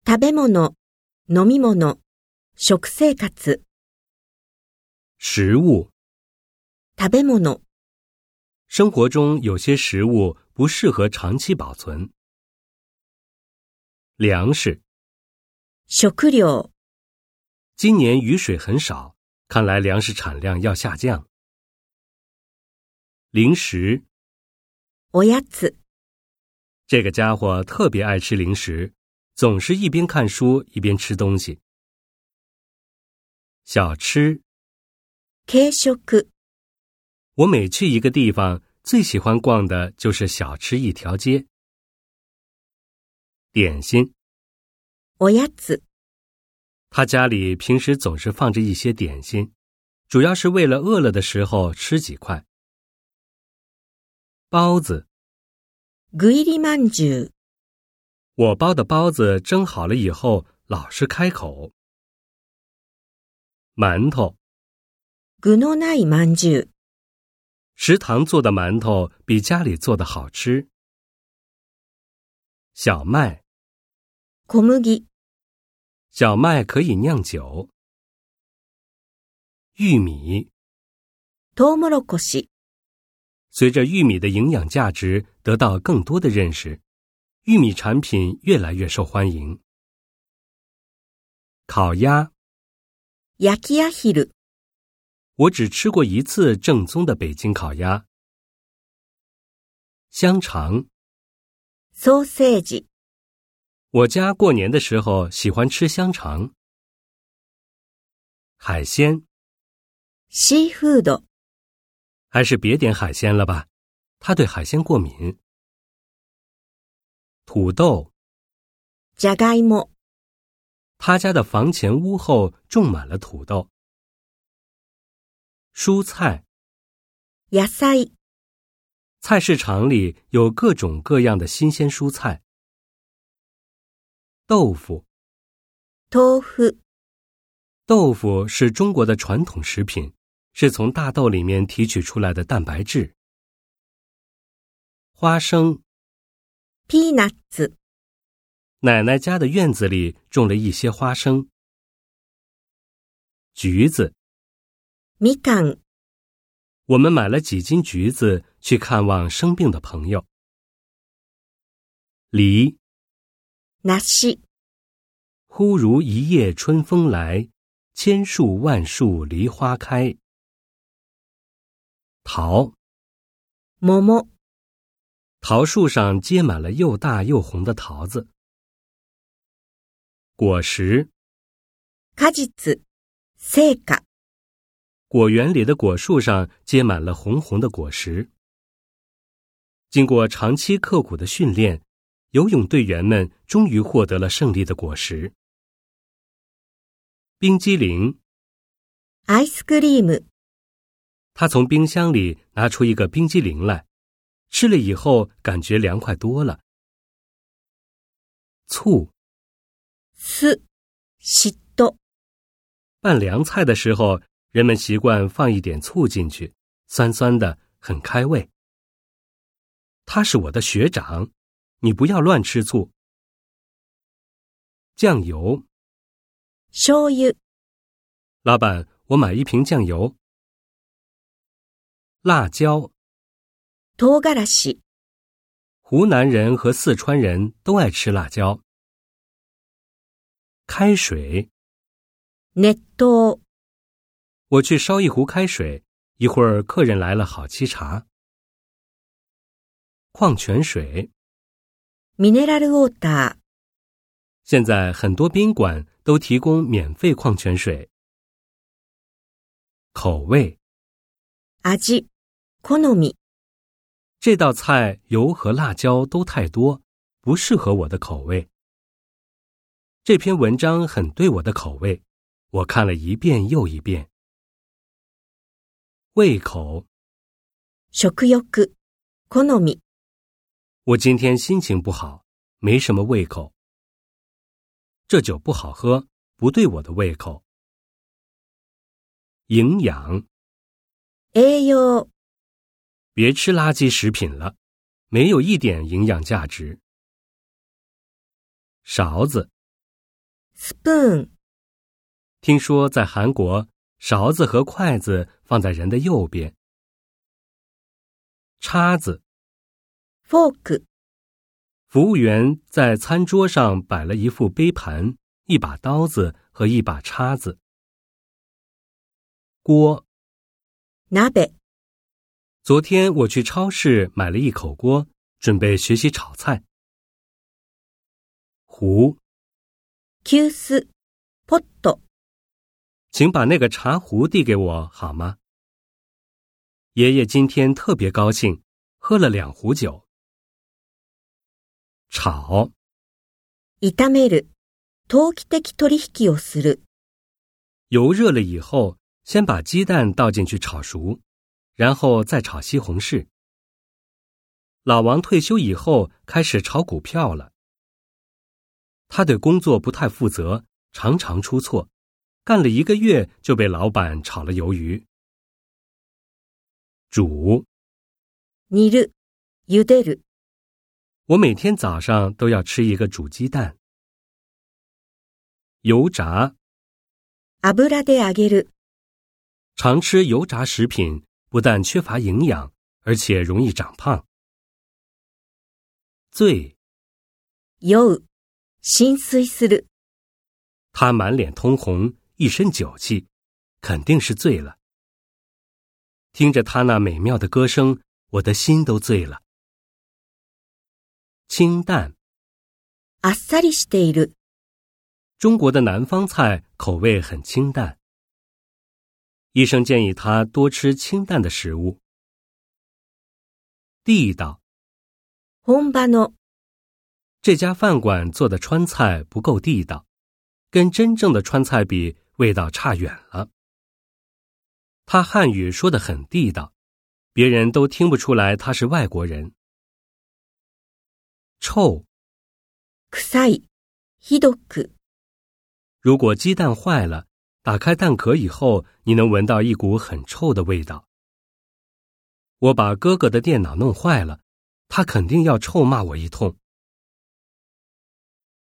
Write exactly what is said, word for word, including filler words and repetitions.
食べ物、飲み物、食生活。 食物。 食べ物。 生活中有些食物不适合长期保存。粮食。 食料。 今年雨水很少，看来粮食产量要下降。零食。 おやつ。 这个家伙特别爱吃零食，总是一边看书一边吃东西。小吃。 軽食。 我每去一个地方，最喜欢逛的就是小吃一条街。点心。 おやつ。 他家里平时总是放着一些点心，主要是为了饿了的时候吃几块。包子。 具入りまんじゅう。 我包的包子蒸好了以后老是开口。馒头。 具のないまんじゅう。 食堂做的馒头比家里做的好吃。小麦。 小麦。 小麦可以酿酒。玉米。 トウモロコシ。 随着玉米的营养价值得到更多的认识，玉米产品越来越受欢迎。烤鸭。 焼きアヒル。 我只吃过一次正宗的北京烤鸭。香肠。 ソーセージ。 我家过年的时候喜欢吃香肠。海鲜。 シーフード。 还是别点海鲜了吧，他对海鲜过敏。土豆。 じゃがいも。 他家的房前屋后种满了土豆。蔬菜。 野菜。 菜市场里有各种各样的新鲜蔬菜。豆腐。 豆腐。 豆腐是中国的传统食品，是从大豆里面提取出来的蛋白质。花生。 ピーナッツ。 奶奶家的院子里种了一些花生。橘子。 みかん。 我们买了几斤橘子去看望生病的朋友。梨。 梨。 忽如一夜春风来，千树万树梨花开。桃。 桃。 桃树上结满了又大又红的桃子。果实。 果実。成果。 果园里的果树上结满了红红的果实。经过长期刻苦的训练，游泳队员们终于获得了胜利的果实。冰激凌。 アイスクリーム。 他从冰箱里拿出一个冰激凌来，吃了以后感觉凉快多了。醋。 酢。嫉妬。 拌凉菜的时候，人们习惯放一点醋进去，酸酸的，很开胃。他是我的学长，你不要乱吃醋。酱油。 醤油。 老板，我买一瓶酱油。辣椒。 唐辛子。 湖南人和四川人都爱吃辣椒。开水。 熱湯。 我去烧一壶开水，一会儿客人来了好沏茶。矿泉水。 ミネラルウォーター。 现在很多宾馆都提供免费矿泉水。口味。 味。好み。 这道菜油和辣椒都太多，不适合我的口味。这篇文章很对我的口味，我看了一遍又一遍。胃口。 食欲。好み。 我今天心情不好，没什么胃口。这酒不好喝，不对我的胃口。营养。 栄養。 别吃垃圾食品了，没有一点营养价值。勺子。 spoon。 听说在韩国，勺子和筷子放在人的右边。叉子。 fork。 服务员在餐桌上摆了一副杯盘、一把刀子和一把叉子。锅。 鍋。 昨天我去超市买了一口锅，准备学习炒菜。壶。 急須。ポット。 请把那个茶壶递给我好吗？爷爷今天特别高兴，喝了两壶酒。炒。 炒める。投機的取引をする。 油热了以后，先把鸡蛋倒进去炒熟，然后再炒西红柿。老王退休以后开始炒股票了。他对工作不太负责，常常出错，干了一个月就被老板炒了鱿鱼。煮。 煮る。茹でる。 我每天早上都要吃一个煮鸡蛋。油炸。 油で揚げる。 常吃油炸食品不但缺乏营养，而且容易长胖。醉。 酔う。心酔する。 他满脸通红，一身酒气，肯定是醉了。听着他那美妙的歌声，我的心都醉了。清淡。 あっさりしている。 中国的南方菜口味很清淡。医生建议他多吃清淡的食物。地道。 本場の。 这家饭馆做的川菜不够地道，跟真正的川菜比，味道差远了。他汉语说得很地道，别人都听不出来他是外国人。臭。 臭い。ひどく。 如果鸡蛋坏了，打开蛋壳以后，你能闻到一股很臭的味道。我把哥哥的电脑弄坏了，他肯定要臭骂我一通。